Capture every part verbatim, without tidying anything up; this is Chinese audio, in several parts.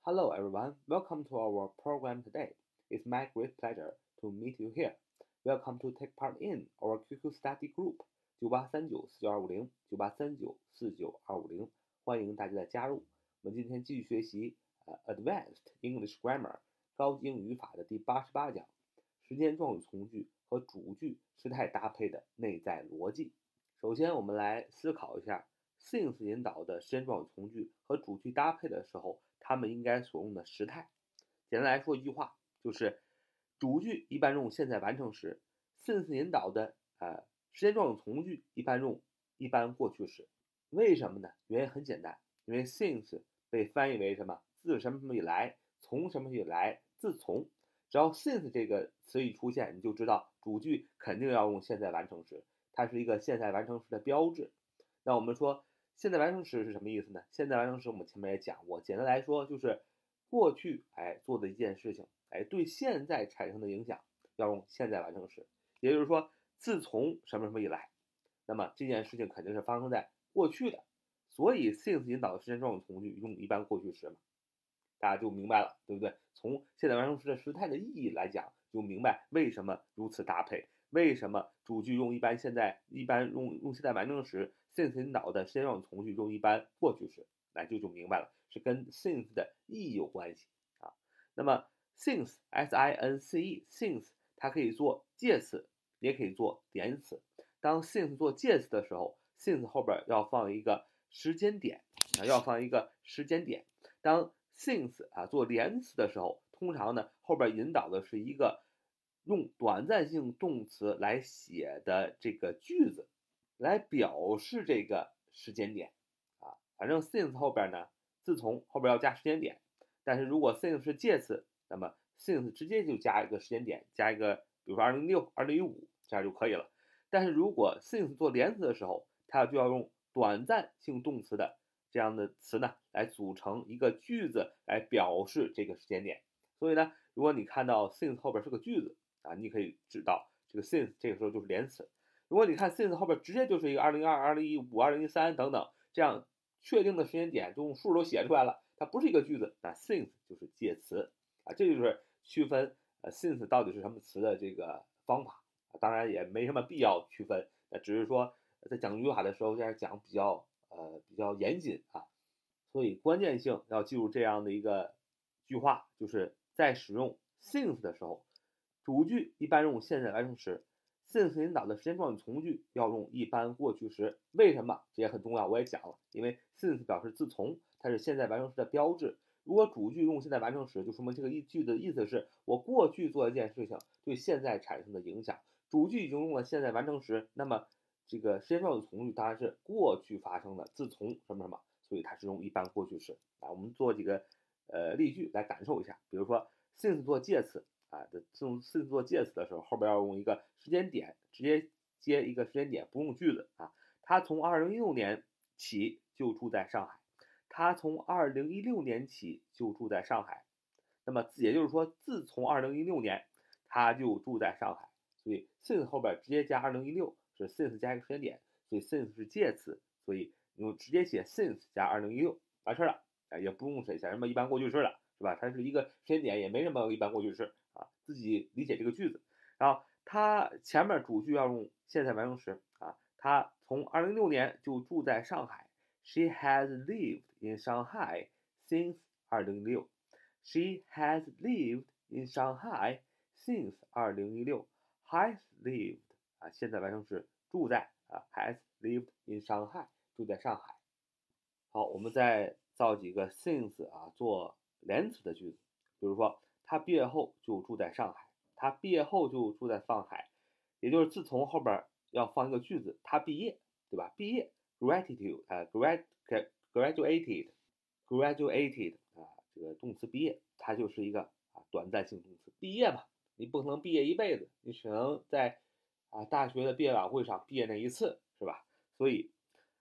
Hello everyone, welcome to our program today. It's my great pleasure to meet you here. Welcome to take part in our Q Q study group 九八三九四九二五零九八三九四九二五零，欢迎大家的加入。我们今天继续学习呃 Advanced English Grammar 高级英语语法的第八十八讲，时间状语从句和主句时态搭配的内在逻辑。首先，我们来思考一下 since 引导的时间状语从句和主句搭配的时候，他们应该所用的时态。简单来说一句话，就是主句一般用现在完成时 since 引导的呃时间状语从句一般用一般过去时。为什么呢？原因很简单，因为 since 被翻译为什么？自什么什么以来，从什么以来，自从。只要 since 这个词一出现，你就知道主句肯定要用现在完成时，它是一个现在完成时的标志。那我们说现在完成时是什么意思呢？现在完成时我们前面也讲过，简单来说就是过去哎做的一件事情，哎对现在产生的影响要用现在完成时。也就是说，自从什么什么以来，那么这件事情肯定是发生在过去的，所以 since 引导的时间状语从句用一般过去时嘛，大家就明白了，对不对？从现在完成时的时态的意义来讲，就明白为什么如此搭配，为什么主句用一般现在一般用用现在完成时 since 引导的时间状语从句用一般过去时，那就就明白了，是跟 since 的意义有关系啊。那么 since s i n c e since 它可以做介词，也可以做连词。当 since 做介词的时候 since 后边要放一个时间点啊，要放一个时间点。当 since 啊做连词的时候，通常呢后边引导的是一个用短暂性动词来写的这个句子，来表示这个时间点啊。反正 since 后边呢，自从后边要加时间点，但是如果 since 是介词，那么 since 直接就加一个时间点，加一个比如说二零一六、二零一五这样就可以了。但是如果 since 做连词的时候，它就要用短暂性动词的这样的词呢，来组成一个句子来表示这个时间点。所以呢，如果你看到 since 后边是个句子啊，你可以知道这个 since 这个时候就是连词。如果你看 since 后边直接就是一个二零二、二零一五、二零一三等等这样确定的时间点，就用数都写出来了，它不是一个句子，那 since 就是介词啊，这就是区分呃 since 到底是什么词的这个方法。当然也没什么必要区分，那只是说在讲语法的时候这样讲比较呃比较严谨啊，所以关键性要记住这样的一个句话，就是在使用 since 的时候，主句一般用现在完成时 since 引导的时间状语从句要用一般过去时。为什么？这也很重要，我也讲了，因为 since 表示自从，它是现在完成时的标志。如果主句用现在完成时，就说明这个一句的意思是我过去做一件事情对现在产生的影响。主句已经用了现在完成时，那么这个时间状语从句当然是过去发生的，自从什么什么，所以它是用一般过去时啊。我们做几个呃例句来感受一下，比如说 since 做介词啊，用 since 做介词的时候，后边要用一个时间点，直接接一个时间点，不用句子啊。他从二零一六年起就住在上海，他从二零一六年起就住在上海。那么也就是说，自从二零一六年他就住在上海。所以 since 后边直接加二零一六是 since 加一个时间点，所以 since 是介词，所以你就直接写 since 加二零一六完事了，也不用写什么一般过去式了，是吧？它是一个时间点，也没什么一般过去式啊，自己理解这个句子。然后它前面主句要用现在完成时啊，他从二零一六年就住在上海。She has lived in Shanghai since 二零一六。She has lived in Shanghai since 二零一六。has lived 啊，现在完成时住在啊 has lived in Shanghai 住在上海。好，我们再造几个 since 啊做连词的句子，比如说他毕业后就住在上海，他毕业后就住在上海，也就是自从后边要放一个句子，他毕业，对吧？毕业 gratitude 啊 grad graduated graduated 啊这个动词毕业，它就是一个啊短暂性动词，毕业嘛。你不可能毕业一辈子，你只能在啊大学的毕业晚会上毕业那一次，是吧？所以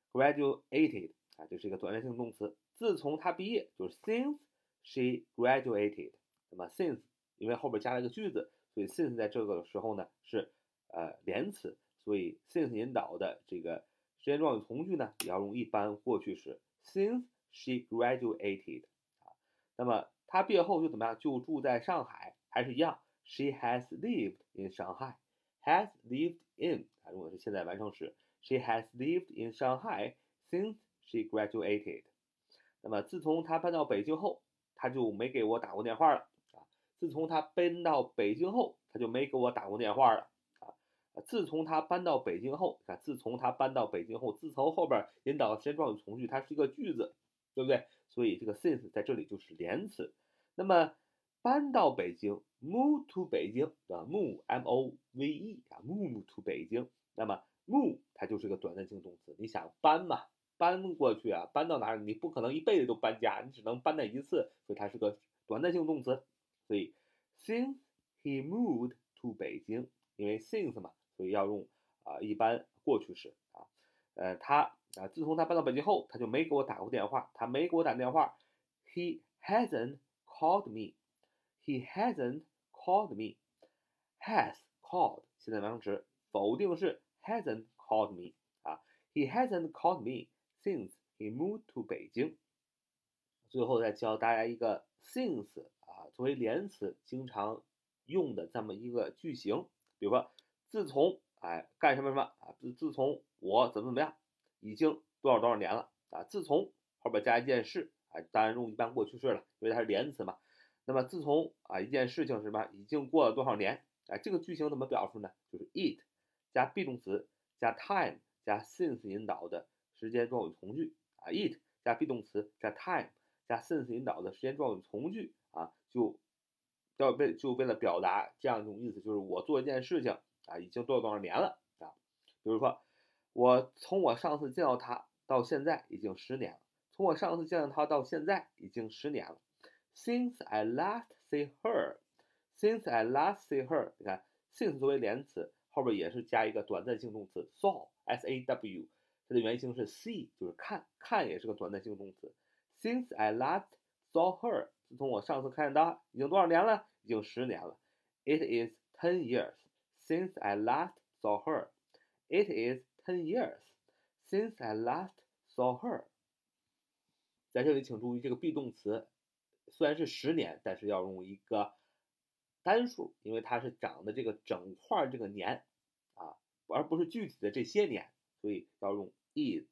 graduated 啊，这是一个短暂性动词。自从他毕业，就是 since she graduated。那么 since 因为后边加了一个句子，所以 since 在这个时候呢是呃连词，所以 since 引导的这个时间状语从句呢也要用一般过去时 since she graduated。 那么他毕业后就怎么样？就住在上海，还是一样。She has lived in Shanghai. Has lived in 啊，如果是现在完成时 ，She has lived in Shanghai since she graduated. 那么自从他搬到北京后，他就没给我打过电话了啊。自从他搬到北京后，他就没给我打过电话了啊。自从他搬到北京后，啊，自从他搬到北京后，自从后边引导时间状语从句，它是一个句子，对不对？所以这个 since 在这里就是连词。那么搬到北京 ，move to 北京，对吧 ？move m o v e 啊 ，move to 北京。那么 move 它就是个短暂性动词，你想搬嘛？搬过去啊，搬到哪里？你不可能一辈子都搬家，你只能搬那一次，所以它是个短暂性动词。所以 since he moved to 北京，因为 since 嘛，所以要用啊、呃、一般过去式啊。呃，他啊，自从他搬到北京后，他就没给我打过电话，他没给我打电话。He hasn't called me. He hasn't called me. Has called 现在完成时，否定式 hasn't called me 啊。He hasn't called me since he moved to 北京。最后再教大家一个 since 啊，作为连词经常用的这么一个句型，比如说自从哎干什么什么啊，自自从我怎么怎么样，已经多少多少年了啊，自从后边加一件事啊，当然用一般过去式了，因为它是连词嘛。那么自从啊一件事情是什么，已经过了多少年啊，这个句型怎么表述呢？就是 it 加 be 动词加 time 加 since 引导的时间状语从句啊 ，it 加 be 动词加 time 加 since 引导的时间状语从句啊，就要为就为了表达这样一种意思，就是我做一件事情啊，已经多少多少年了啊。比如说，我从我上次见到他到现在已经十年了，从我上次见到他到现在已经十年了。Since I last see her, since I last see her， 你看 since 作为连词，后边也是加一个短暂性动词 saw s a w， 它的原型是 see， 就是看，看也是个短暂性动词。Since I last saw her， 自从我上次看见她，已经多少年了？已经十年了。It is ten years since I last saw her. It is ten years since I last saw her。在这里请注意，这个 be 动词虽然是十年，但是要用一个单数，因为它是长的这个整块这个年啊，而不是具体的这些年，所以要用 it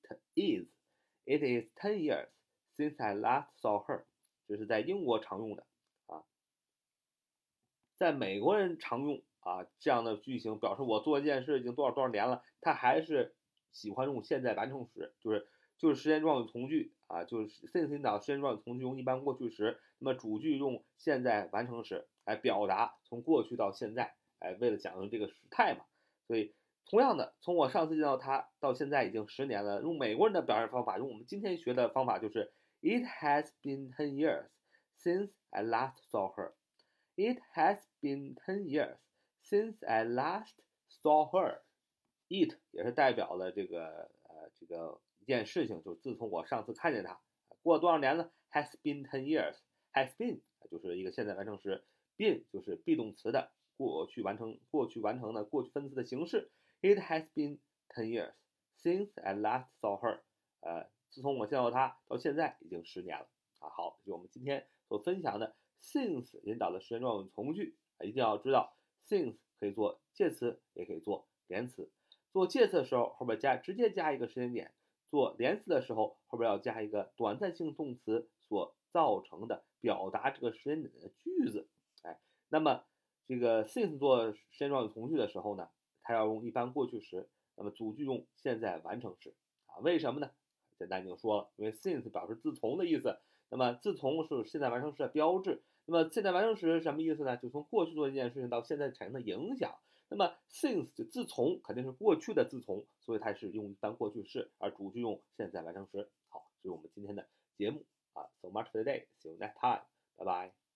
is。It is ten years since I last saw her， 这是在英国常用的啊，在美国人常用啊这样的句型，表示我做一件事已经多少多少年了，他还是喜欢用现在完成时，就是就是时间状语从句啊，就是 since 引导时间状语从句用一般过去时，那么主句用现在完成时来表达从过去到现在，哎，为了讲究这个时态嘛，所以同样的，从我上次见到他到现在已经十年了，用美国人的表现方法，用我们今天学的方法就是 It has been ten years since I last saw her. It has been ten years since I last saw her. It 也是代表了这个呃这个一件事情，就自从我上次看见它，过了多少年了 ？Has been ten years. Has been 就是一个现在完成时 ，been 就是 be 动词的过去完成过去完成的过去分词的形式。It has been ten years since I last saw her. 呃，自从我见到她到现在已经十年了啊。好，这是我们今天所分享的 since 引导的时间状语从句啊，一定要知道 since 可以做介词，也可以做连词。做介词的时候，后边加直接加一个时间点；做连词的时候，后边要加一个短暂性动词所造成的表达这个时间点的句子。哎，那么这个 since 做时间状语从句的时候呢，它要用一般过去时，那么主句用现在完成时啊？为什么呢？简单已经说了，因为 since 表示自从的意思，那么自从是现在完成时的标志。那么现在完成时是什么意思呢？就从过去做一件事情到现在产生的影响。那么 since 就自从肯定是过去的自从，所以它是用一般过去式，而主句用现在完成时。好，这是我们今天的节目啊。So much for today. See you next time. Bye bye.